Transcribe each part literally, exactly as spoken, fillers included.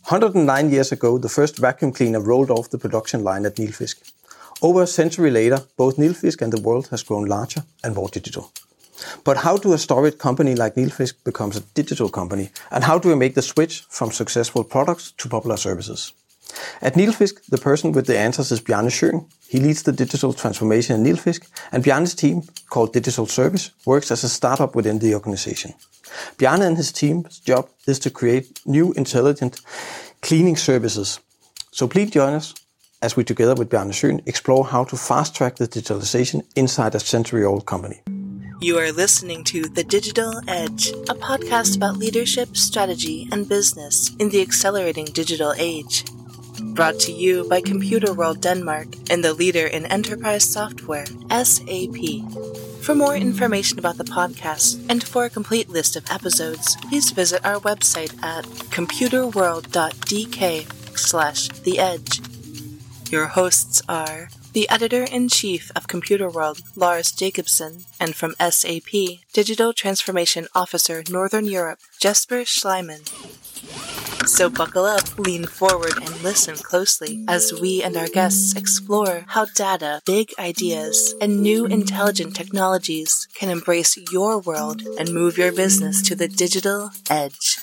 one hundred nine years ago, the first vacuum cleaner rolled off the production line at Nilfisk. Over a century later, both Nilfisk and the world has grown larger and more digital. But how do a storied company like Nilfisk becomes a digital company? And how do we make the switch from successful products to popular services? At Nilfisk, the person with the answers is Bjarne Schøn. He leads the digital transformation in Nilfisk, and Bjarne's team, called Digital Service, works as a startup within the organization. Bjarne and his team's job is to create new intelligent cleaning services. So please join us as we, together with Bjarne Schøn, explore how to fast-track the digitalization inside a century-old company. You are listening to The Digital Edge, a podcast about leadership, strategy, and business in the accelerating digital age. Brought to you by Computer World Denmark and the leader in enterprise software, S A P. For more information about the podcast and for a complete list of episodes, please visit our website at computerworld.dk slash the edge. Your hosts are the Editor-in-Chief of Computer World, Lars Jacobsen, and from S A P, Digital Transformation Officer Northern Europe, Jesper Schleiman. So buckle up, lean forward, and listen closely as we and our guests explore how data, big ideas, and new intelligent technologies can embrace your world and move your business to the digital edge.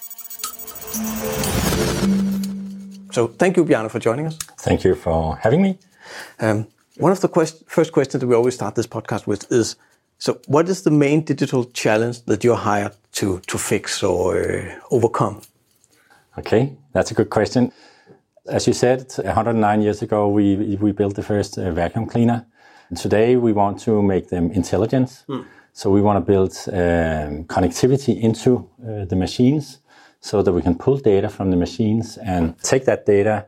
So thank you, Bjarne, for joining us. Thank you for having me. Um, one of the quest- first questions that we always start this podcast with is, so what is the main digital challenge that you're hired to, to fix or uh, overcome? Okay, that's a good question. As you said, one hundred nine years ago, we we built the first uh, vacuum cleaner. And today, we want to make them intelligent. Mm. So we want to build um, connectivity into uh, the machines so that we can pull data from the machines and take that data,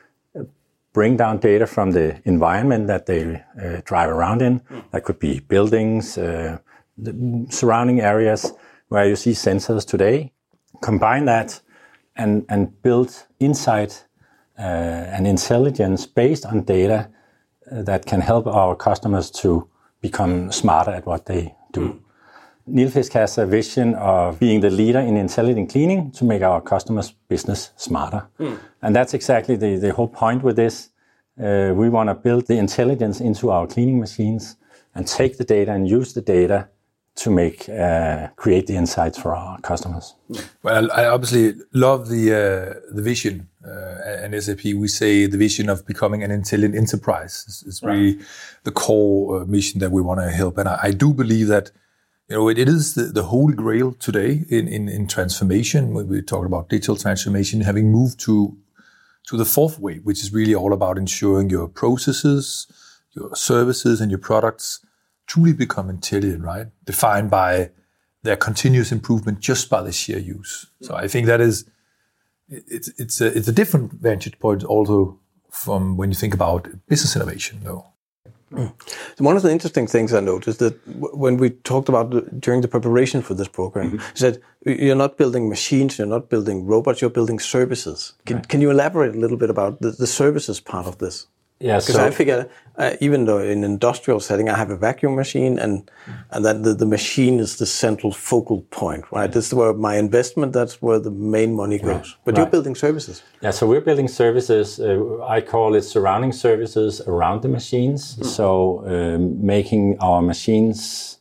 bring down data from the environment that they uh, drive around in. Mm. That could be buildings, uh, the surrounding areas where you see sensors today. Combine that and, and build insight uh, and intelligence based on data uh, that can help our customers to become smarter at what they do. Mm. Nilfisk has a vision of being the leader in intelligent cleaning to make our customers' business smarter. Mm. And that's exactly the, the whole point with this. Uh, we want to build the intelligence into our cleaning machines and take the data and use the data to make uh, create the insights for our customers. Well, I obviously love the uh, the vision. Uh, and S A P, we say the vision of becoming an intelligent enterprise is, is really right. The core uh, mission that we want to help. And I, I do believe that you know it, it is the, the holy grail today in, in, in transformation. When we talk about digital transformation, having moved to to the fourth way, which is really all about ensuring your processes, your services, and your products truly become intelligent, right? Defined by their continuous improvement just by the sheer use. So I think that is, it's it's a, it's a different vantage point also from when you think about business innovation, though. Mm. So one of the interesting things I noticed that w- when we talked about the, during the preparation for this program, mm-hmm. is that you're not building machines, you're not building robots, you're building services. Can, right. can you elaborate a little bit about the, the services part of this? Yeah, because so, I figure, uh, even though in an industrial setting I have a vacuum machine, and mm. and that the, the machine is the central focal point, right? Yeah. This is where my investment, that's where the main money goes. Right. But right. you're building services. Yeah, so we're building services. Uh, I call it surrounding services around the machines. Mm. So um, making our machines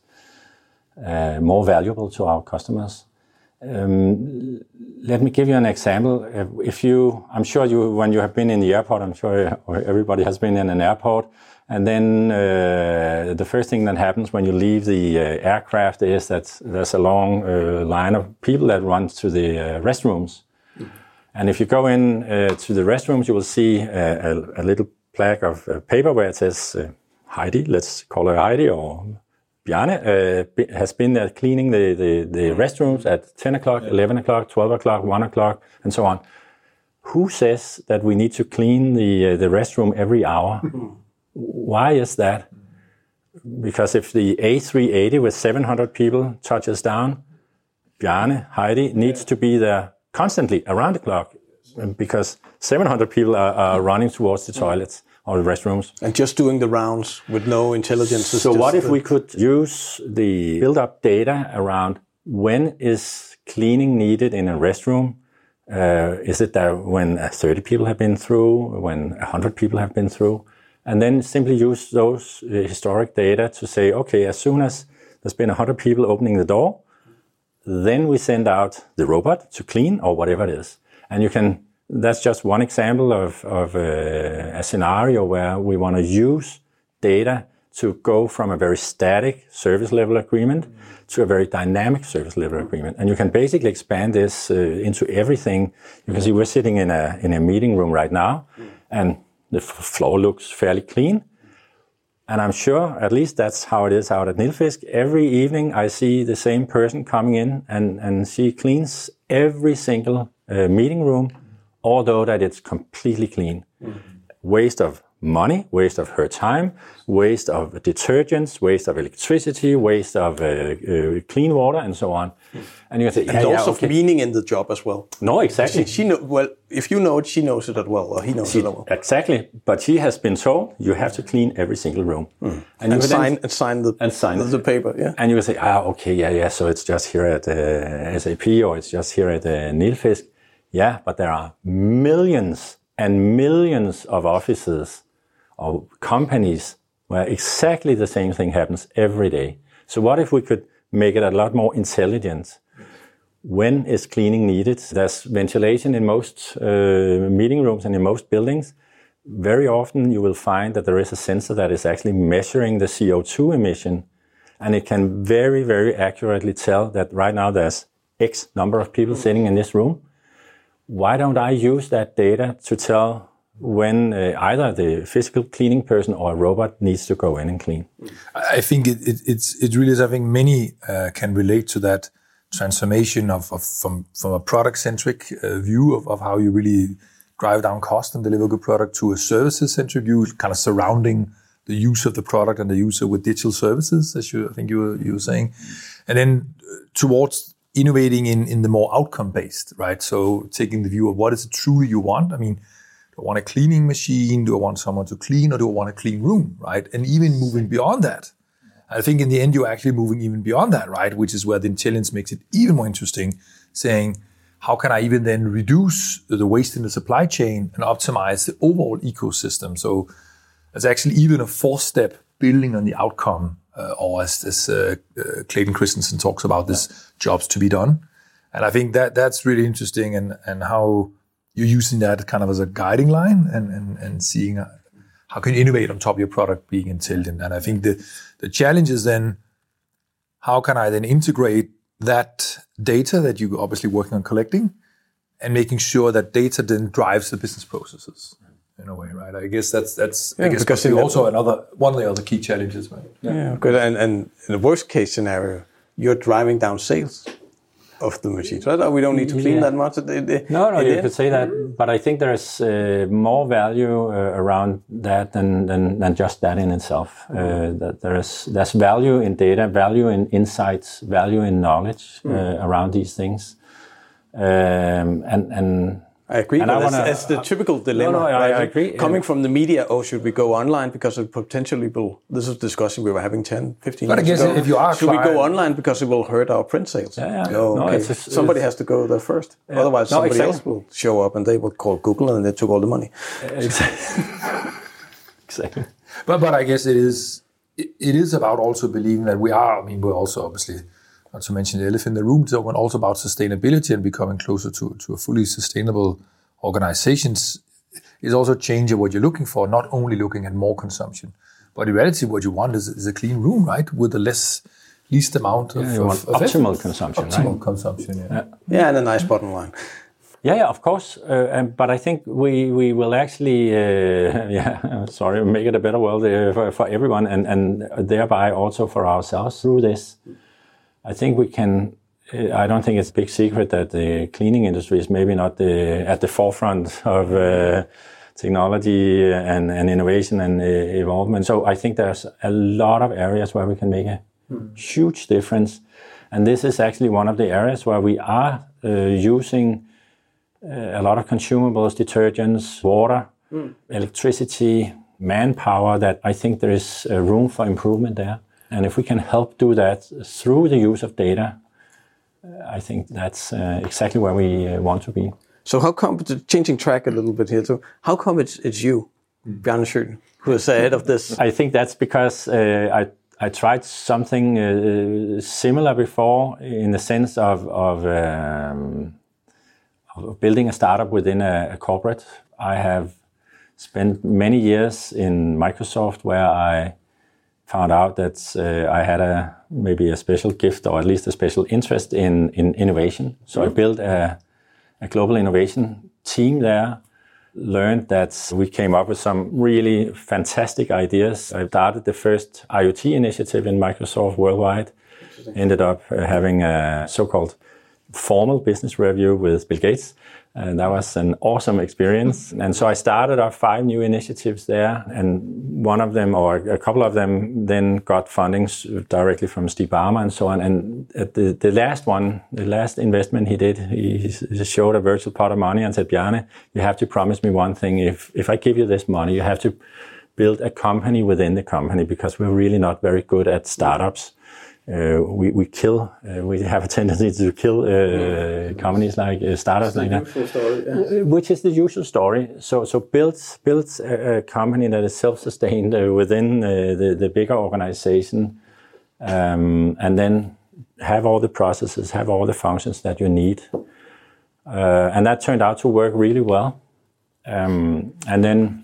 uh, more valuable to our customers. Um, let me give you an example. If you, I'm sure you, when you have been in the airport, I'm sure everybody has been in an airport, and then uh, the first thing that happens when you leave the uh, aircraft is that there's a long uh, line of people that runs to the uh, restrooms. Mm-hmm. And if you go in uh, to the restrooms, you will see a, a, a little plaque of uh, paper where it says uh, Heidi, let's call her Heidi, or Bjarne uh, has been there cleaning the, the, the restrooms at ten o'clock, eleven o'clock, twelve o'clock, one o'clock, and so on. Who says that we need to clean the uh, the restroom every hour? Why is that? Because if the A three eighty with seven hundred people touches down, Bjarne, Heidi needs to be there constantly around the clock because seven hundred people are, are running towards the toilets or the restrooms. And just doing the rounds with no intelligence. So what if the... we could use the build-up data around when is cleaning needed in a restroom Uh, is it that when uh, thirty people have been through, when one hundred people have been through? And then simply use those uh, historic data to say, okay, as soon as there's been one hundred people opening the door, then we send out the robot to clean or whatever it is. And you can, that's just one example of, of uh, a scenario where we want to use data to go from a very static service level agreement to a very dynamic service level agreement. And you can basically expand this uh, into everything. You can see we're sitting in a, in a meeting room right now, and the f- floor looks fairly clean. And I'm sure, at least that's how it is out at Nilfisk. Every evening I see the same person coming in and, and she cleans every single uh, meeting room, although that it's completely clean. Mm-hmm. Waste of money, waste of her time, waste of detergents, waste of electricity, waste of uh, uh, clean water, and so on. And you can say, yeah, and yeah, also okay. meaning in the job as well. No, exactly. She, she know, well, if you know it, she knows it as well, or he knows she, it as well. Exactly. But she has been told you have to clean every single room. Mm. And, and, you sign, then, and sign the and sign the, the paper, yeah. And you will say, ah, okay, yeah, yeah, so it's just here at uh, S A P or it's just here at uh, Nilfisk. Yeah, but there are millions and millions of offices or companies where exactly the same thing happens every day. So what if we could make it a lot more intelligent? When is cleaning needed? There's ventilation in most uh, meeting rooms and in most buildings. Very often you will find that there is a sensor that is actually measuring the C O two emission, and it can very, very accurately tell that right now there's X number of people sitting in this room. Why don't I use that data to tell when uh, either the physical cleaning person or a robot needs to go in and clean? I think it, it, it's, it really is, I think many uh, can relate to that transformation of, of from, from a product-centric uh, view of, of how you really drive down cost and deliver good product to a services-centric view, kind of surrounding the use of the product and the user with digital services, as you, I think you were, you were saying. And then towards innovating in, in the more outcome-based, right? So taking the view of what is it truly you want? I mean, do I want a cleaning machine? Do I want someone to clean, or do I want a clean room, right? And even moving beyond that. I think in the end, you're actually moving even beyond that, right? Which is where the intelligence makes it even more interesting, saying, how can I even then reduce the waste in the supply chain and optimize the overall ecosystem? So there's actually even a four-step building on the outcome, uh, or as, as uh, uh, Clayton Christensen talks about, this jobs to be done. And I think that that's really interesting, and, and how you're using that kind of as a guiding line, and, and, and seeing uh, how can you innovate on top of your product being intelligent. And I think the, the challenge is then, how can I then integrate that data that you're obviously working on collecting, and making sure that data then drives the business processes in a way, right? I guess that's that's yeah, I guess because also another one of the other key challenges, right? Yeah, yeah, good. And, and in the worst case scenario, you're driving down sales of the machines, right? We don't need to clean yeah. that much. No, no, you could say that, but I think there's uh, more value uh, around that than, than than just that in itself. Uh, that there's there's value in data, value in insights, value in knowledge uh, mm. around these things, um, and and. I agree, and but I that's, wanna, that's the typical dilemma. No, no, right? I, I agree. Coming yeah. from the media, oh, should we go online because it potentially will, this is a discussion we were having ten, fifteen but years I guess ago. if you are should trying, we go online because it will hurt our print sales? Yeah, yeah. No, no okay. it's, it's, somebody it's, has to go there first. Yeah. Otherwise, no, somebody exactly. else will show up and they will call Google and they took all the money. Exactly. exactly. But but I guess it is it, it is about also believing that we are. I mean, we're also obviously, not to mention the elephant in the room, talking also about sustainability and becoming closer to to a fully sustainable organizations. Is also changing what you're looking for, not only looking at more consumption, but in reality, what you want is, is a clean room, right? With the less, least amount of, yeah, you of, want of optimal effort. consumption, optimal right? consumption, yeah. yeah. Yeah, and a nice bottom line. Yeah, yeah, of course. Uh, and, but I think we, we will actually, uh, yeah, sorry, make it a better world uh, for, for everyone, and, and thereby also for ourselves through this. I think we can. I don't think it's a big secret that the cleaning industry is maybe not the, at the forefront of uh, technology and, and innovation and uh, evolvement. So I think there's a lot of areas where we can make a mm. huge difference. And this is actually one of the areas where we are uh, using uh, a lot of consumables, detergents, water, mm. electricity, manpower, that I think there is uh, room for improvement there. And if we can help do that through the use of data, I think that's uh, exactly where we uh, want to be. So how come, changing track a little bit here too, how come it's it's you, Bjarne Schøten, who is ahead of this? I think that's because uh, I I tried something uh, similar before, in the sense of of, um, of building a startup within a, a corporate. I have spent many years in Microsoft where I found out that uh, I had a maybe a special gift, or at least a special interest in in innovation. So mm-hmm. I built a a global innovation team there. Learned that we came up with some really fantastic ideas. I started the first IoT initiative in Microsoft worldwide. Ended up uh, having a so-called formal business review with Bill Gates. And that was an awesome experience. And so I started off five new initiatives there. And one of them, or a couple of them, then got funding directly from Steve Ballmer and so on. And at the, the last one, the last investment he did, he, he showed a virtual pot of money and said, Bjarne, you have to promise me one thing. If, if I give you this money, you have to build a company within the company, because we're really not very good at startups. Uh, we we kill. Uh, we have a tendency to kill uh, companies like uh, startups like that, story, yeah. Which is the usual story. So so build build a, a company that is self-sustained uh, within uh, the the bigger organization, um, and then have all the processes, have all the functions that you need, uh, and that turned out to work really well. Um, and then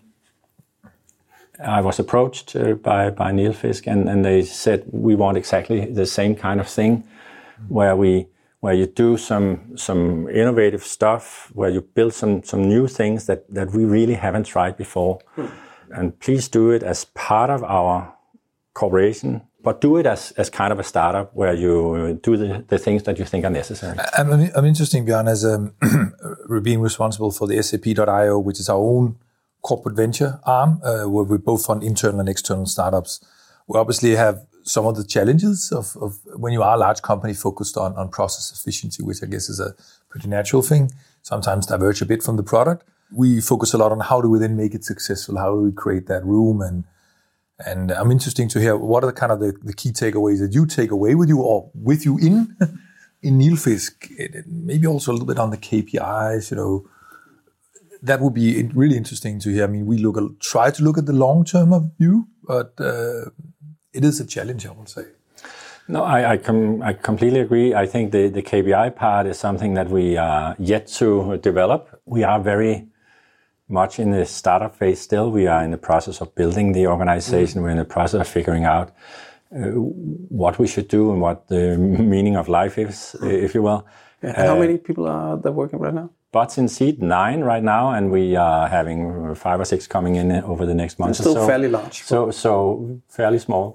I was approached uh, by by Nilfisk, and, and they said, we want exactly the same kind of thing, where we where you do some some innovative stuff, where you build some some new things that, that we really haven't tried before, hmm. and please do it as part of our corporation, but do it as, as kind of a startup where you do the, the things that you think are necessary. I'm, I'm interesting, Bjarne, as um, being responsible for the S A P dot I O, which is our own corporate venture arm, uh, where we both fund internal and external startups. We obviously have some of the challenges of, of when you are a large company focused on, on process efficiency, which I guess is a pretty natural thing, sometimes diverge a bit from the product. We focus a lot on how do we then make it successful, how do we create that room, and and I'm interested to hear what are the kind of the, the key takeaways that you take away with you or with you in in Nilfisk, maybe also a little bit on the K P Is, you know. That would be really interesting to hear. I mean, we look try to look at the long term of view, but uh, it is a challenge, I would say. No, I I, com- I completely agree. I think the, the K P I part is something that we are yet to develop. We are very much in the startup phase still. We are in the process of building the organization. Mm. We're in the process of figuring out uh, what we should do and what the meaning of life is, mm. if you will. Yeah. And uh, how many people are there working right now? Butts in seat, nine right now, and we are having five or six coming in over the next month. It's still or so. fairly large. So, so fairly small.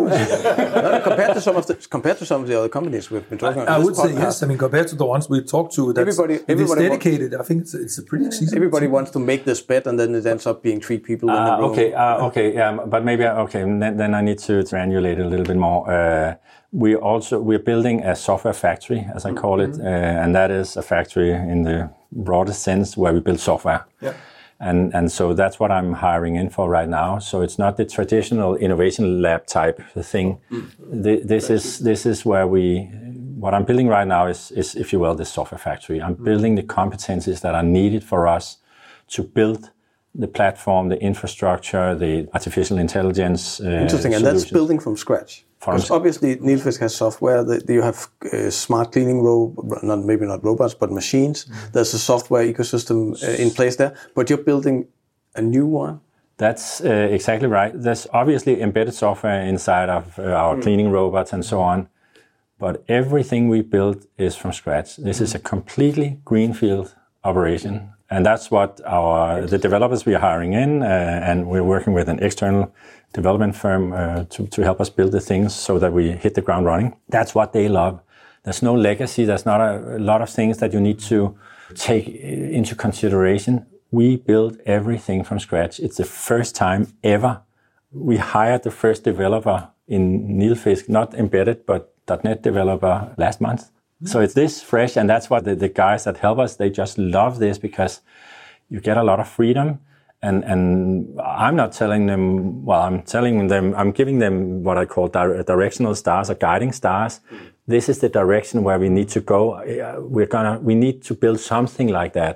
uh, compared to some of the compared to some of the other companies we've been talking I, about. I would say yes. I mean, compared to the ones we talked to, that's, everybody, everybody it's dedicated. Wants, I think it's it's a pretty season. Everybody wants to make this bet, and then it ends up being three people uh, in the room. Okay, uh, okay, yeah, but maybe okay. Then, then I need to triangulate a little bit more. Uh, we also we're building a software factory, as I call it, uh, and that is a factory in the broadest sense where we build software. Yeah. And and so that's what I'm hiring in for right now. So it's not the traditional innovation lab type thing. Mm. The, this is this is where we what I'm building right now is is if you will this software factory. I'm mm. building the competencies that are needed for us to build the platform, the infrastructure, the artificial intelligence. Uh, Interesting, and that's building from scratch. Because obviously Nilfisk has software that you have uh, smart cleaning robots, not maybe not robots, but machines. Mm. There's a software ecosystem uh, in place there, but you're building a new one. That's uh, exactly right. There's obviously embedded software inside of uh, our mm. cleaning robots and so on, but everything we build is from scratch. This mm. is a completely greenfield operation. And that's what our the developers we are hiring in, uh, and we're working with an external development firm uh, to, to help us build the things so that we hit the ground running. That's what they love. There's no legacy. There's not a, a lot of things that you need to take into consideration. We build everything from scratch. It's the first time ever. We hired the first developer in Nilfisk, not embedded, but .NET developer last month. So it's this fresh, and that's what the, the guys that help us, they just love this because you get a lot of freedom. And and I'm not telling them, well, I'm telling them, I'm giving them what I call di- directional stars or guiding stars. This is the direction where we need to go. We're gonna, we need to build something like that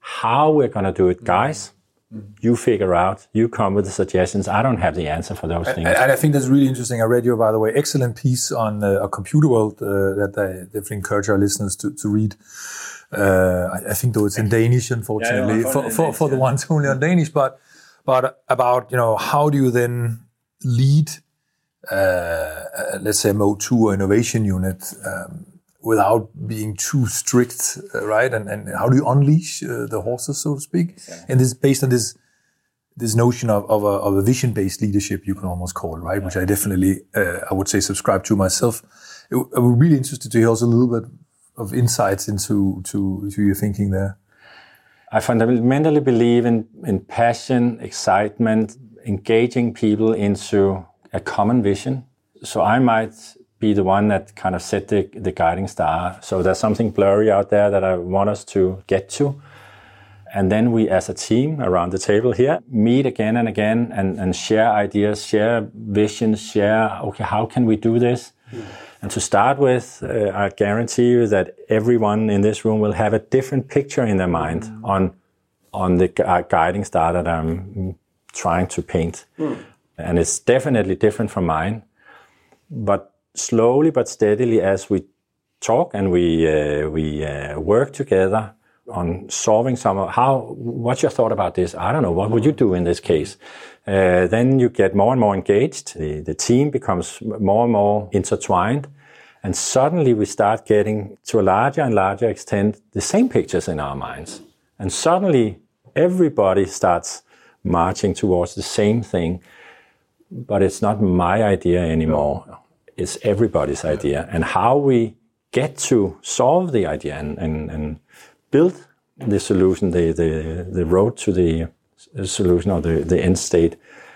how we're going to do it, guys. You figure out, you come with the suggestions. I don't have the answer for those things. And, and I think that's really interesting. I read your, by the way, excellent piece on uh, a Computer World uh, that I definitely encourage our listeners to, to read. Uh, I, I think though it's in Danish, unfortunately, yeah, for, for, Danish, for the yeah. ones only on Danish, but, but about, you know, how do you then lead, uh, let's say, a Mode two or innovation unit um, without being too strict, uh, right? And, and how do you unleash uh, the horses, so to speak? Exactly. And this based on this this notion of, of a, of a vision-based leadership, you can almost call it, right? Yeah. Which I definitely, uh, I would say, subscribe to myself. It, I would be really interested to hear also a little bit of insights into to, to your thinking there. I fundamentally believe in, in passion, excitement, engaging people into a common vision. So I might be the one that kind of set the, the guiding star. So there's something blurry out there that I want us to get to. And then we, as a team around the table here, meet again and again and, and share ideas, share visions, share, okay, how can we do this? Mm. And to start with, uh, I guarantee you that everyone in this room will have a different picture in their mind mm. on, on the gu- guiding star that I'm trying to paint. Mm. And it's definitely different from mine. But slowly but steadily, as we talk and we uh, we uh, work together on solving some of how. What's your thought about this? I don't know. What would you do in this case? Uh, then you get more and more engaged. The, the team becomes more and more intertwined, and suddenly we start getting, to a larger and larger extent, the same pictures in our minds. And suddenly everybody starts marching towards the same thing, but it's not my idea anymore. No. It's everybody's idea, and how we get to solve the idea and, and, and build the solution, the, the, the road to the solution or the, the end state,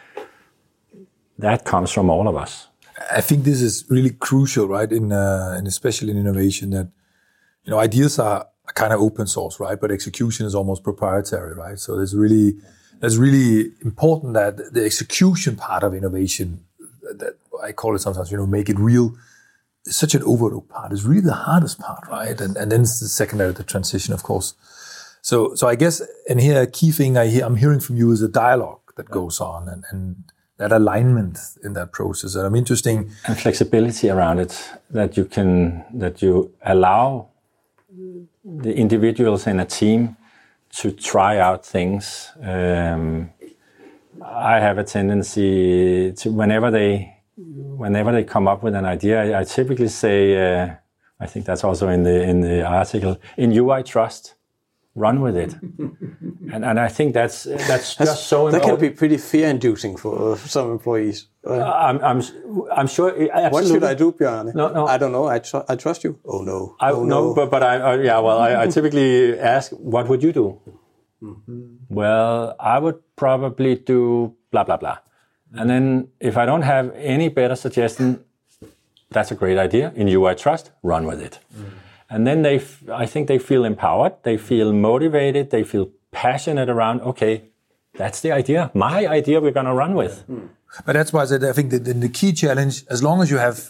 that comes from all of us. I think this is really crucial, right? In uh, and especially in innovation, that you know ideas are kind of open source, right? But execution is almost proprietary, right? So it's really it's really important that the execution part of innovation, that I call it sometimes, you know, make it real. It's such an overlooked part. It's really the hardest part, right? And and then it's the secondary, the transition, of course. So so I guess, and here a key thing I hear, I'm hearing from you is a dialogue that goes on, and, and that alignment in that process. And I'm interesting. And flexibility around it, that you can, that you allow the individuals in a team to try out things. Um, I have a tendency to, whenever they, whenever they come up with an idea, I, I typically say, uh, I think that's also in the in the article, in you I trust, run with it. and and I think that's that's, that's just so that important. That can be pretty fear-inducing for some employees. Uh, I'm I'm I'm sure. Absolutely. What should I do, Bjarne? No, no. I don't know. I tr- I trust you. Oh no. I, oh, no, no. but but I, I yeah. Well, I, I typically ask, what would you do? Mm-hmm. Well, I would probably do blah blah blah. And then if I don't have any better suggestion, that's a great idea. In you I trust, run with it. Mm. And then they, f- I think they feel empowered, they feel motivated, they feel passionate around, okay, that's the idea, my idea we're going to run with. Mm. But that's why I said, I think that the key challenge, as long as you have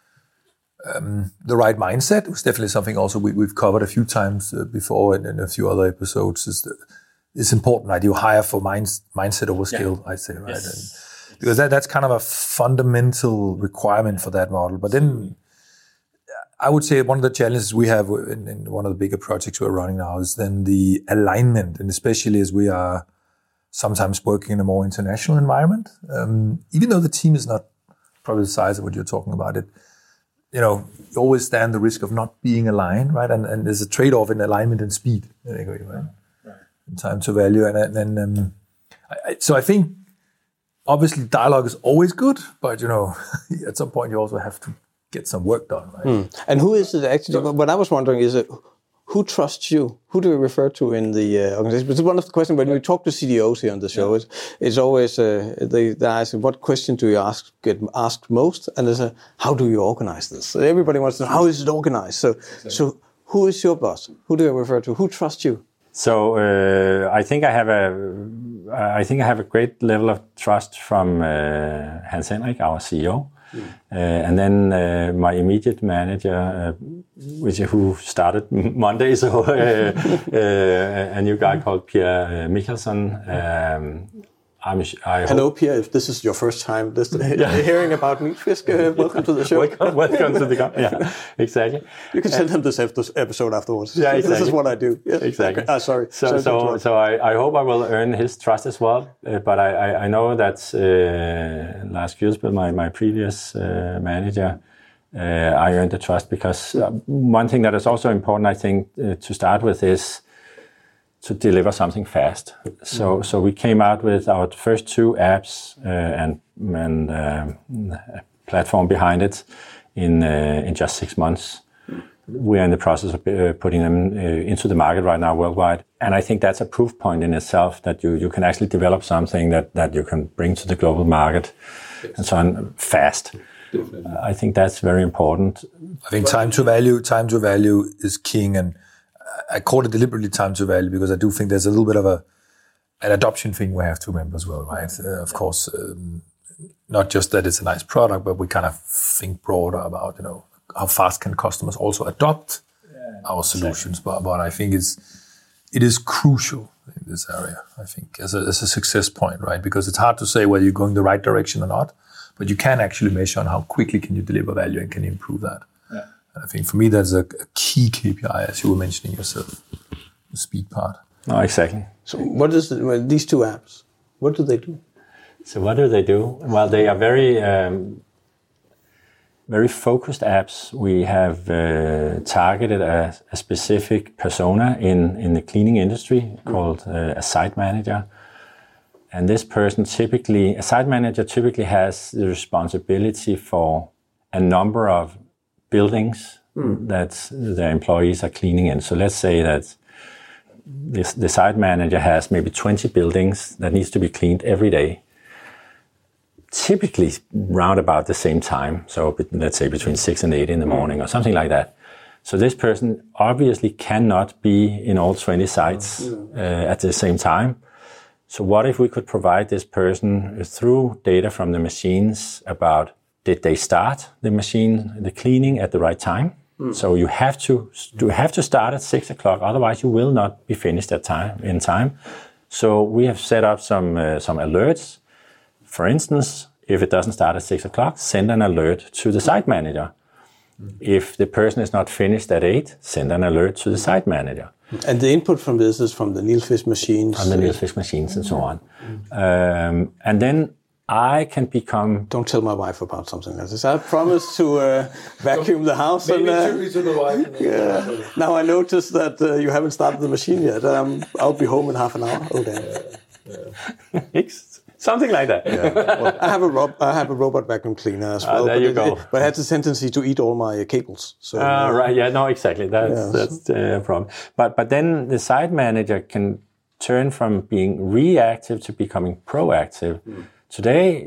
um, the right mindset, it's definitely something also we, we've covered a few times uh, before in, in a few other episodes, is that it's important, right? You hire for minds, mindset over skill, yeah. I'd say, right? Yes. And, because that, that's kind of a fundamental requirement for that model. But then I would say one of the challenges we have in, in one of the bigger projects we're running now is then the alignment, and especially as we are sometimes working in a more international environment. Um, even though the team is not probably the size of what you're talking about, it, you know, you always stand the risk of not being aligned, right? And, and there's a trade-off in alignment and speed, right? Right. And time to value. And then, um, I, so I think, obviously, dialogue is always good, but, you know, at some point you also have to get some work done, right? Mm. And who is it actually? So, what I was wondering is, it, who trusts you? Who do you refer to in the uh, organization? But one of the questions when we talk to C D Os here on the show, yeah. it's, it's always uh, they, they ask, what question do you ask get asked most? And there's a, how do you organize this? So everybody wants to know, how is it organized? So, exactly. So who is your boss? Who do you refer to? Who trusts you? So uh, I think I have a, I think I have a great level of trust from uh, Hans Henrik, our C E O, mm. uh, and then uh, my immediate manager, uh, which who started Monday, so uh, uh, a new guy called Pierre Michelson. Um, I'm, I Hello, hope... Pierre. If this is your first time listening, yeah. hearing about Nilfisk, uh, welcome to the show. welcome, welcome to the company. Yeah, exactly. You can send him this episode afterwards. Yeah, exactly. This is what I do. Yes. Exactly. Okay. Ah, sorry. So, sorry so, so I, I hope I will earn his trust as well. Uh, but I, I, I know that uh, Lars Kjølsbøl, my my previous uh, manager, uh, I earned the trust because uh, one thing that is also important, I think, uh, to start with is to deliver something fast. So, mm-hmm. so we came out with our first two apps uh, and, and uh, a platform behind it in uh, in just six months. We are in the process of uh, putting them uh, into the market right now worldwide, and I think that's a proof point in itself that you you can actually develop something that that you can bring to the global market yes. and so on fast. Definitely. I think that's very important. I think time to value, time to value is king, and I call it deliberately time to value because I do think there's a little bit of a an adoption thing we have to remember as well, right? Uh, of course, um, not just that it's a nice product, but we kind of think broader about, you know, how fast can customers also adopt yeah, our solutions. Exactly. But, but I think it's it is crucial in this area, I think, as a, as a success point, right? Because it's hard to say whether you're going the right direction or not, but you can actually measure on how quickly can you deliver value and can you improve that. Yeah. I think for me, that's a, a key K P I, as you were mentioning yourself, the speed part. No, exactly. So what is the, well, these two apps? What do they do? So what do they do? Well, they are very, um, very focused apps. We have uh, targeted a, a specific persona in, in the cleaning industry mm. called uh, a site manager. And this person typically, a site manager typically has the responsibility for a number of buildings mm. that their employees are cleaning in. So let's say that this, the site manager has maybe twenty buildings that needs to be cleaned every day, typically round about the same time. So let's say between six and eight in the morning or something like that. So this person obviously cannot be in all twenty sites uh, at the same time. So what if we could provide this person through data from the machines about did they start the machine, the cleaning at the right time? Mm. So you have to you have to start at six o'clock, otherwise you will not be finished at time in time. So we have set up some uh, some alerts. For instance, if it doesn't start at six o'clock, send an alert to the site manager. Mm. If the person is not finished at eight, send an alert to the site manager. And the input from this is from the Nilfisk machines? From the Nilfisk machines and so on. Mm. Um, and then I can become... Don't tell my wife about something like this. I promised to uh, vacuum the house. Maybe and, uh, it to the wife. Yeah. Now I noticed that uh, you haven't started the machine yet. Um, I'll be home in half an hour. Oh, damn. Yeah. Yeah. Something like that. Yeah. Well, I have a ro- I have a robot vacuum cleaner as well. Uh, there but you it, go. It, but it has a tendency to eat all my cables. So, uh, uh, right. Yeah. No. Exactly. That's yeah, that's the problem. But but then the site manager can turn from being reactive to becoming proactive. Mm. Today,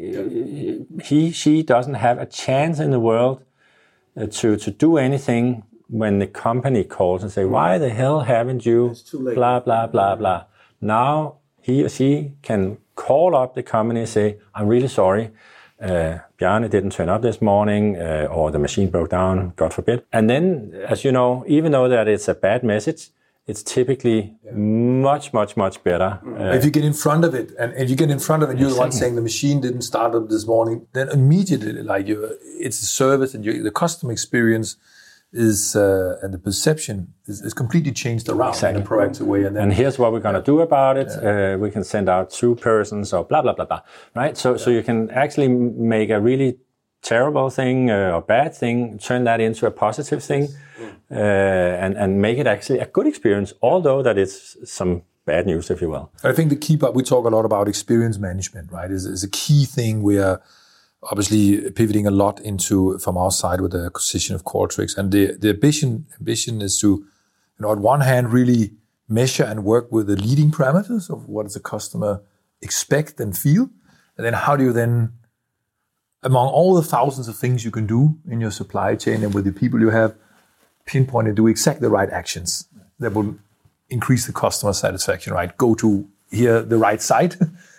he she doesn't have a chance in the world uh, to to do anything when the company calls and say, "Why the hell haven't you?" Blah blah blah blah. Now he or she can call up the company and say, I'm really sorry, uh, Bjarne didn't turn up this morning, uh, or the machine broke down, God forbid. And then, as you know, even though that it's a bad message, it's typically yeah. much, much, much better. Uh, if you get in front of it, and if you get in front of it, you're exactly. the one saying the machine didn't start up this morning, then immediately, like you, it's a service, and you, the customer experience is uh, and the perception is, is completely changed around exactly. in a proactive way. And, then, and here's what we're going to do about it. Yeah. Uh, we can send out two persons or blah, blah, blah, blah. Right? So, yeah. so you can actually make a really terrible thing uh, or bad thing, turn that into a positive thing, uh, and, and make it actually a good experience, although that it's some bad news, if you will. I think the key part, we talk a lot about experience management, right? Is, is a key thing we are obviously pivoting a lot into from our side with the acquisition of Qualtrics. And the, the ambition, ambition is to, you know, on one hand, really measure and work with the leading parameters of what does the customer expect and feel. And then how do you then, among all the thousands of things you can do in your supply chain and with the people you have, pinpoint and do exactly the right actions that will increase the customer satisfaction, right? Go to here, the right site,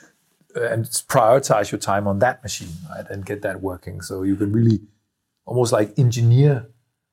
and prioritize your time on that machine, right? And get that working. So you can really almost like engineer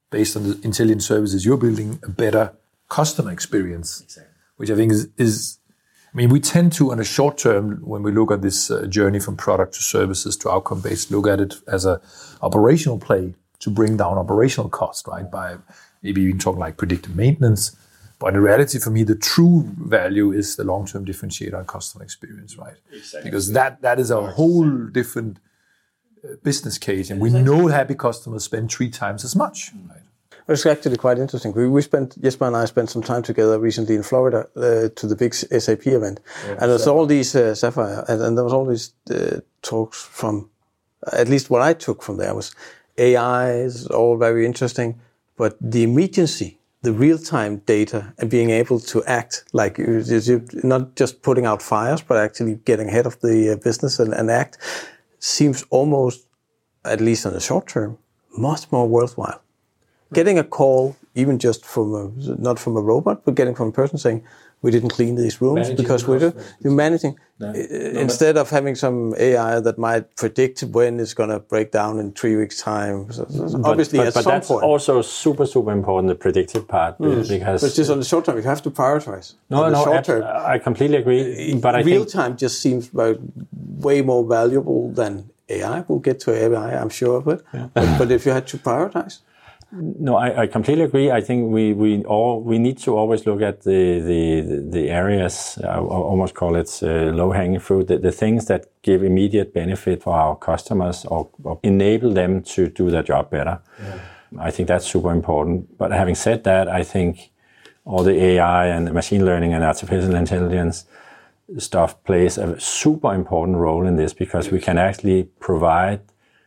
based on the intelligent services you're building, a better customer experience. Exactly. Which I think is, is, I mean, we tend to, on a short term, when we look at this uh, journey from product to services to outcome-based, look at it as a operational play to bring down operational cost, right? By maybe even talk like predictive maintenance. But in reality, for me, the true value is the long-term differentiator on customer experience, right? Exactly. Because that that is a whole different uh, business case, and we know happy customers spend three times as much, right? It's actually quite interesting. We, we spent, Jesper and I spent some time together recently in Florida uh, to the big S A P event. Yeah, and there's all these, uh, Sapphire, and, and there was all these uh, talks from, at least what I took from there was A I is all very interesting, but the immediacy, the real-time data and being able to act like you're not just putting out fires, but actually getting ahead of the uh, business and, and act seems almost, at least in the short term, much more worthwhile. Getting a call, even just from a, not from a robot, but getting from a person saying, we didn't clean these rooms managing because we're you're managing. No. No, instead of having some A I that might predict when it's going to break down in three weeks' time. So, so but, obviously, but, at but some that's point. also super, super important, the predictive part. Mm. Because but just on the short term, you have to prioritize. No, on the no, short ab- term, I completely agree. But I real think time just seems like way more valuable than A I. We'll get to A I, I'm sure of it. Yeah. But, but if you had to prioritize. No, I, I completely agree. I think we we all we need to always look at the the the areas. I almost call it uh, low hanging fruit. The, the things that give immediate benefit for our customers or, or enable them to do their job better. Yeah. I think that's super important. But having said that, I think all the A I and the machine learning and artificial intelligence stuff plays a super important role in this because we can actually provide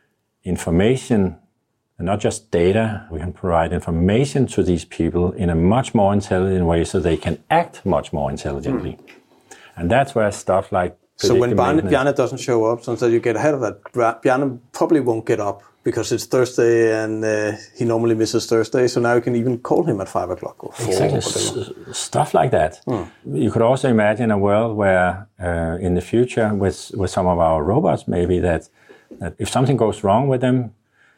information. And not just data, we can provide information to these people in a much more intelligent way so they can act much more intelligently. Mm. And that's where stuff like... So when Bjarne, Bjarne doesn't show up, so you get ahead of that, Bjarne probably won't get up because it's Thursday and uh, he normally misses Thursday, so now you can even call him at five o'clock or four. Exactly, S- stuff like that. Mm. You could also imagine a world where uh, in the future with, with some of our robots maybe that, that if something goes wrong with them,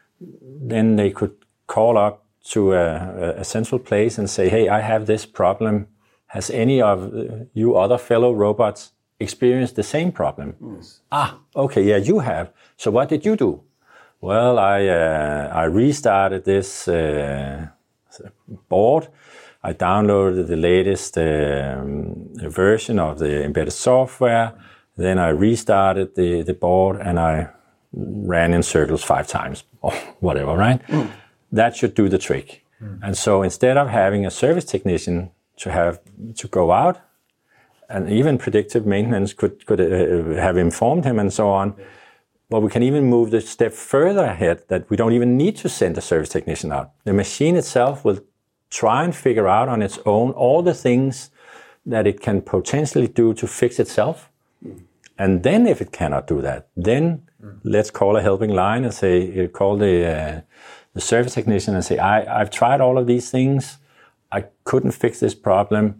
then they could call up to a, a central place and say, hey, I have this problem. Has any of you other fellow robots experienced the same problem? Yes. Ah, okay, yeah, you have. So what did you do? Well, I uh, I restarted this uh, board. I downloaded the latest um, version of the embedded software. Then I restarted the, the board and I ran in circles five times or whatever, right? Mm. That should do the trick. Mm. And so instead of having a service technician to have to go out, and even predictive maintenance could, could uh, have informed him and so on, but we can even move the step further ahead that we don't even need to send a service technician out. The machine itself will try and figure out on its own all the things that it can potentially do to fix itself. Mm. And then if it cannot do that, then let's call a helping line and say, call the uh, the service technician and say, I, I've tried all of these things. I couldn't fix this problem.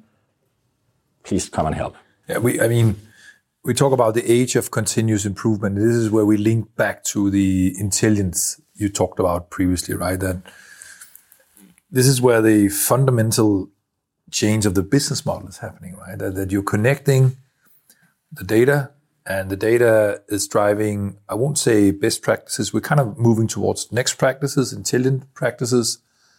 Please come and help. Yeah, we. I mean, we talk about the age of continuous improvement. This is where we link back to the intelligence you talked about previously, right? That this is where the fundamental change of the business model is happening, right? That, that you're connecting the data. And the data is driving, I won't say best practices, we're kind of moving towards next practices, intelligent practices.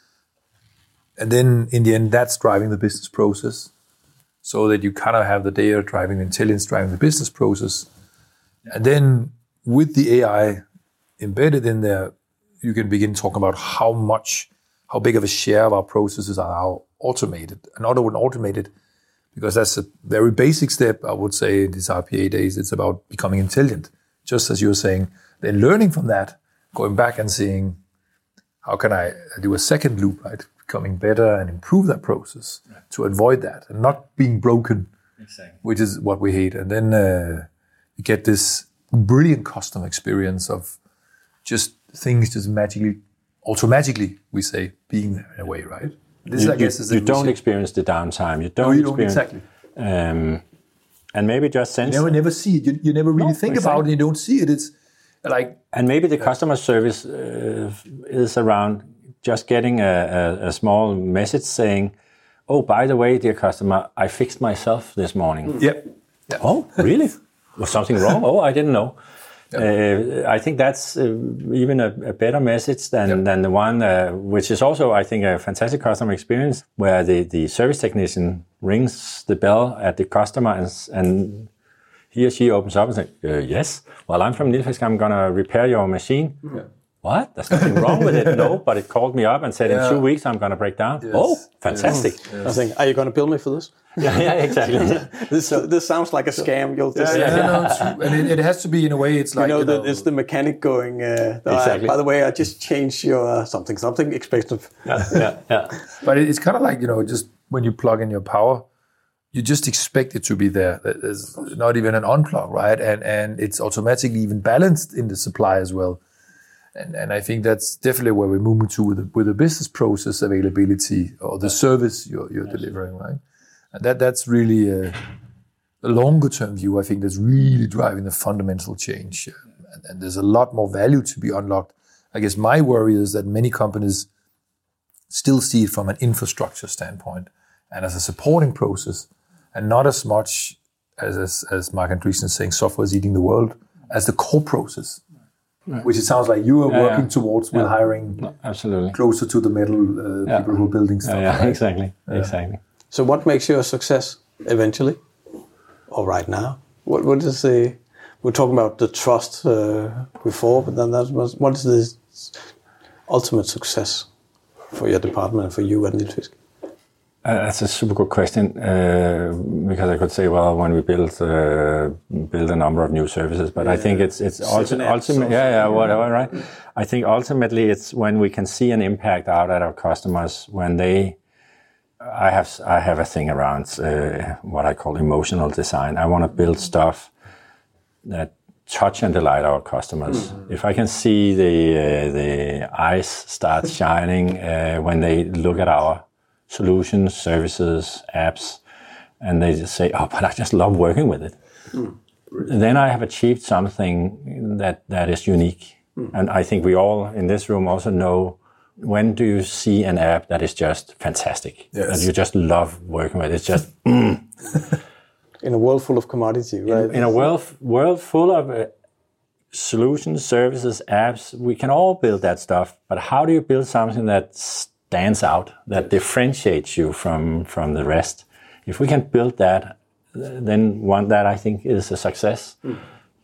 And then in the end, that's driving the business process. So that you kind of have the data driving the intelligence, driving the business process. And then with the A I embedded in there, you can begin talking about how much, how big of a share of our processes are now automated. Another one automated, because that's a very basic step, I would say, in these R P A days. It's about becoming intelligent. Just as you were saying, then learning from that, going back and seeing, how can I do a second loop, right? Becoming better and improve that process yeah. to avoid that and not being broken, exactly. which is what we hate. And then uh, you get this brilliant customer experience of just things just magically, automatically, we say, being there in a way, right? This, you, I guess, is you don't experience the downtime. You don't, no, you experience, don't exactly. Um, and maybe just sense. You never, never see it. You, you never really no, think exactly. about it. You don't see it. It's like. And maybe the customer service uh, is around just getting a, a, a small message saying, oh, by the way, dear customer, I fixed myself this morning. Yep. Yeah. Oh, really? Was something wrong? Oh, I didn't know. Yep. Uh, I think that's uh, even a, a better message than, yep. than the one, uh, which is also, I think, a fantastic customer experience, where the, the service technician rings the bell at the customer and, and he or she opens up and says, uh, yes, well, I'm from Nilfisk, I'm going to repair your machine. Yeah. What? There's nothing wrong with it? No, but it called me up and said, yeah. in two weeks, I'm going to break down. Yes. Oh, fantastic. Yes. Yes. I think, are you going to bill me for this? yeah, yeah, exactly. this so, this sounds like a scam. You'll just yeah, yeah, yeah. No, it's true. And it, it has to be in a way. It's like you know, you know the, it's the mechanic going. Uh, exactly. I, by the way, I just changed your uh, something something expensive. Yeah, yeah, yeah. But it, it's kind of like, you know, just when you plug in your power, you just expect it to be there. There's not even an unplug, right? And and it's automatically even balanced in the supply as well. And and I think that's definitely where we're moving to with the, with the business process availability or the service you're you're delivering, right? And that that's really a, a longer term view. I think that's really driving the fundamental change. And, and there's a lot more value to be unlocked. I guess my worry is that many companies still see it from an infrastructure standpoint and as a supporting process, and not as much as as, as Mark Andreessen is saying, software is eating the world, as the core process. Right. Which it sounds like you are yeah, working yeah. towards with yeah. hiring no, absolutely closer to the middle uh, yeah. people who are building stuff. Yeah, yeah. Right? exactly, yeah. exactly. So, what makes you a success eventually, or right now? What what is the? We're talking about the trust uh, before, but then that was what is the ultimate success for your department and for you at Nilfisk? Uh, that's a super good question, uh, because I could say, well, when we build uh, build a number of new services, but yeah. I think it's it's ulti- ultimately, yeah, yeah, whatever, right? I think ultimately it's when we can see an impact out at our customers when they. I have I have a thing around uh, what I call emotional design. I want to build stuff that touch and delight our customers. Mm-hmm. If I can see the uh, the eyes start shining uh, when they look at our solutions, services, apps, and they just say, oh, but I just love working with it. Mm. Then I have achieved something that, that is unique. Mm. And I think we all in this room also know, when do you see an app that is just fantastic? Yes. That you just love working with? It's just, mm. In a world full of commodity, right? In, in a world, world full of uh, solutions, services, apps, we can all build that stuff. But how do you build something that's stands out, that differentiates you from, from the rest? If we can build that, then one that I think is a success. Mm.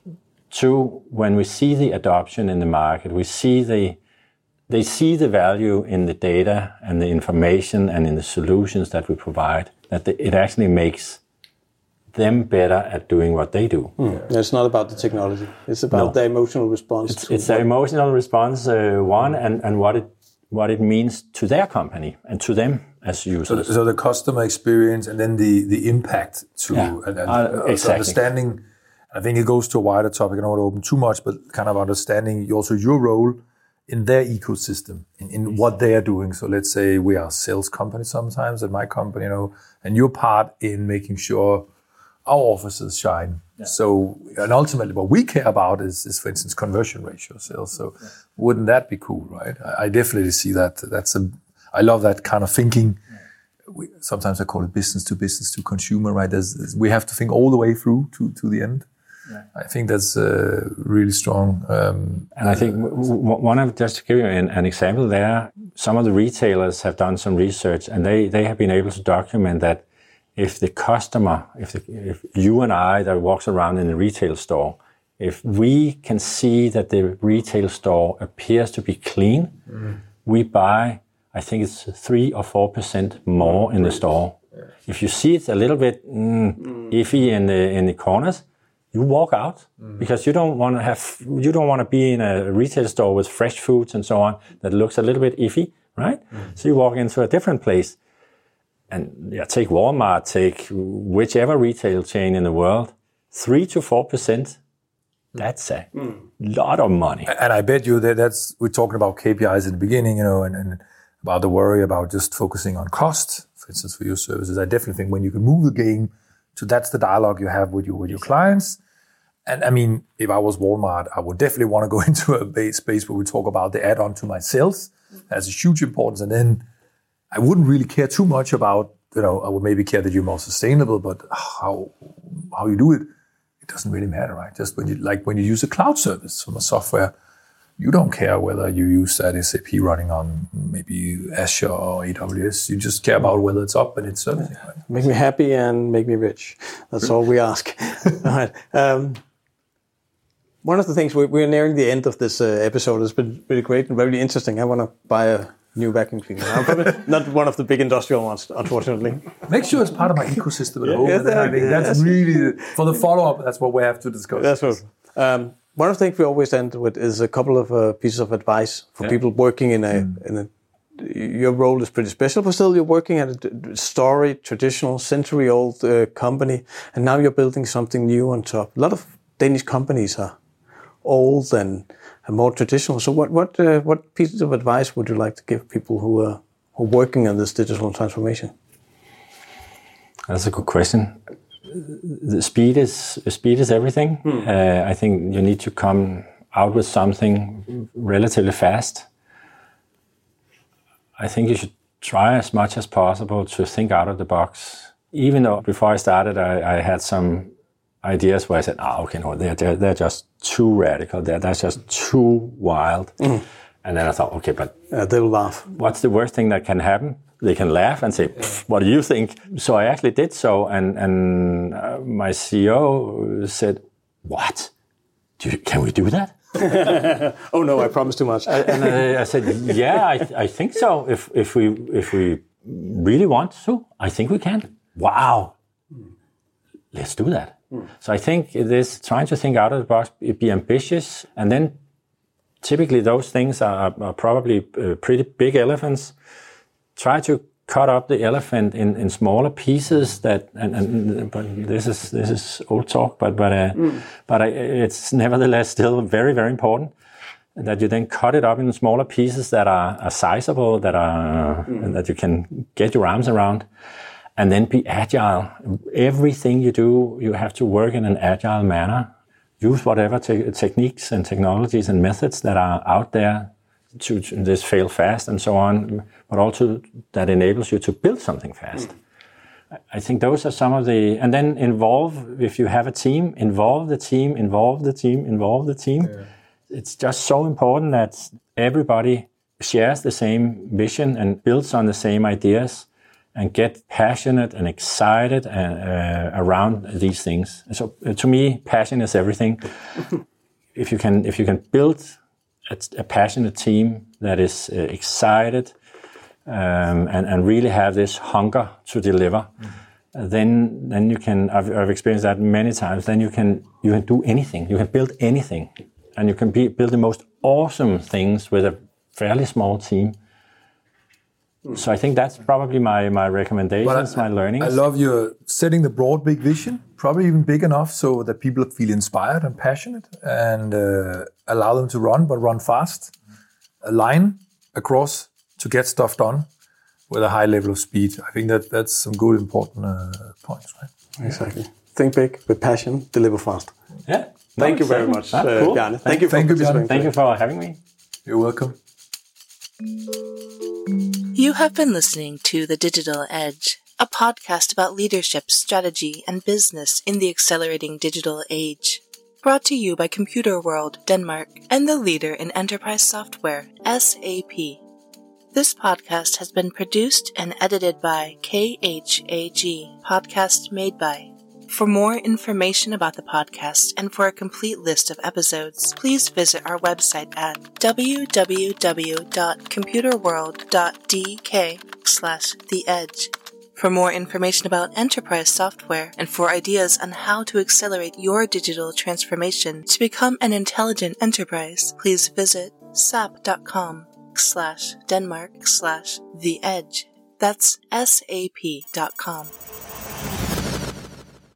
Two, when we see the adoption in the market, we see the they see the value in the data and the information and in the solutions that we provide, that the, it actually makes them better at doing what they do. Mm. It's not about the technology. It's about no. the emotional response. It's, it's the emotional response, uh, one, and, and what it what it means to their company and to them as users. So, so the customer experience and then the, the impact to yeah. and, and uh, exactly. understanding. I think it goes to a wider topic. I don't want to open too much, but kind of understanding also your role in their ecosystem, in, in what they are doing. So let's say we are a sales company sometimes at my company, you know, and you're part in making sure our offices shine. Yeah. So, and ultimately what we care about is, is for instance, conversion ratio sales. So yeah. wouldn't that be cool, right? I, I definitely see that. That's a, I love that kind of thinking. Yeah. We, sometimes I call it business to business to consumer, right? There's, there's, we have to think all the way through to, to the end. Yeah. I think that's uh, really strong. Um, and I think w- w- one of, just to give you an, an example there, some of the retailers have done some research and they, they have been able to document that if the customer, if the, if you and I that walks around in a retail store, if we can see that the retail store appears to be clean, mm. we buy, I think it's three or four percent more in the store. Yeah. If you see it's a little bit mm, mm. iffy in the in the corners, you walk out mm. because you don't want to have, you don't want to be in a retail store with fresh foods and so on that looks a little bit iffy, right? Mm. So you walk into a different place. And yeah, take Walmart, take whichever retail chain in the world, three to four percent. That's a mm. lot of money. And I bet you that that's, we're talking about K P Is at the beginning, you know, and, and about the worry about just focusing on cost, for instance, for your services. I definitely think when you can move the game to that's the dialogue you have with your, with your clients. And I mean, if I was Walmart, I would definitely want to go into a base space where we talk about the add-on to my sales. has a huge importance. And then I wouldn't really care too much about, you know, I would maybe care that you're more sustainable, but how how you do it, it doesn't really matter, right? Just when you, like when you use a cloud service from a software, you don't care whether you use that S A P running on maybe Azure or A W S. You just care about whether it's up and it's servicing. Right? Make me happy and make me rich. That's all we ask. All right. Um, one of the things, we, we're nearing the end of this uh, episode. It's been really great and very interesting. I want to buy a new vacuum cleaner. I'm probably not one of the big industrial ones, unfortunately. Make sure it's part of my ecosystem at home. Yeah, that, I think yeah, that's, that's really, for the follow-up, that's what we have to discuss. That's what. Um, one of the things we always end with is a couple of uh, pieces of advice for yeah. people working in a, mm. in a, your role is pretty special, but still you're working at a storied, traditional, century-old uh, company, and now you're building something new on top. A lot of Danish companies are old and, and more traditional. So what what uh, what pieces of advice would you like to give people who are who are working on this digital transformation? That's a good question. The speed is speed is everything. Hmm. Uh, I think you need to come out with something relatively fast. I think you should try as much as possible to think out of the box. Even though before I started, I, I had some ideas where I said, "Ah, oh, okay, no, they're, they're they're just too radical. They're that's just too wild." Mm. And then I thought, okay, but uh, they'll laugh. What's the worst thing that can happen? They can laugh and say, "What do you think?" So I actually did so, and and uh, my C E O said, "What? Do you, can we do that?" Oh no, I promised too much. And I, I said, "Yeah, I, I think so. If if we if we really want to, I think we can." Wow, let's do that. Mm. So I think it is trying to think out of the box, be ambitious, and then typically those things are, are probably uh, pretty big elephants. Try to cut up the elephant in, in smaller pieces. That and, and but this is this is old talk, but but uh, mm. but I, it's nevertheless still very very important that you then cut it up in smaller pieces that are, are sizable, that are mm. that you can get your arms around. And then be agile. Everything you do, you have to work in an agile manner. Use whatever te- techniques and technologies and methods that are out there to, to this fail fast and so on, but also that enables you to build something fast. Mm. I think those are some of the... And then involve, if you have a team, involve the team, involve the team, involve the team. Yeah. It's just so important that everybody shares the same vision and builds on the same ideas, and get passionate and excited and, uh, around these things. So uh, to me, passion is everything. if you can, if you can build a, a passionate team that is uh, excited um, and, and really have this hunger to deliver, mm-hmm. uh, then then you can. I've, I've experienced that many times. Then you can you can do anything. You can build anything, and you can be, build the most awesome things with a fairly small team. So I think that's probably my, my recommendations, I, my learnings. I love your setting the broad, big vision, probably even big enough so that people feel inspired and passionate, and uh, allow them to run, but run fast. A line across to get stuff done with a high level of speed. I think that that's some good, important uh, points, right? Exactly. Think big, with passion, deliver fast. Yeah. Thank no, you very much, ah, uh, cool. Bjarne. Thank, thank you for thank participating. You, thank you for having me. You're welcome. You have been listening to The Digital Edge, a podcast about leadership, strategy, and business in the accelerating digital age. Brought to you by Computer World Denmark and the leader in enterprise software, S A P. This podcast has been produced and edited by K H A G, podcast made by. For more information about the podcast and for a complete list of episodes, please visit our website at w w w dot computerworld dot d k slash the edge. For more information about enterprise software and for ideas on how to accelerate your digital transformation to become an intelligent enterprise, please visit sap.com slash Denmark slash the edge. That's sap dot com.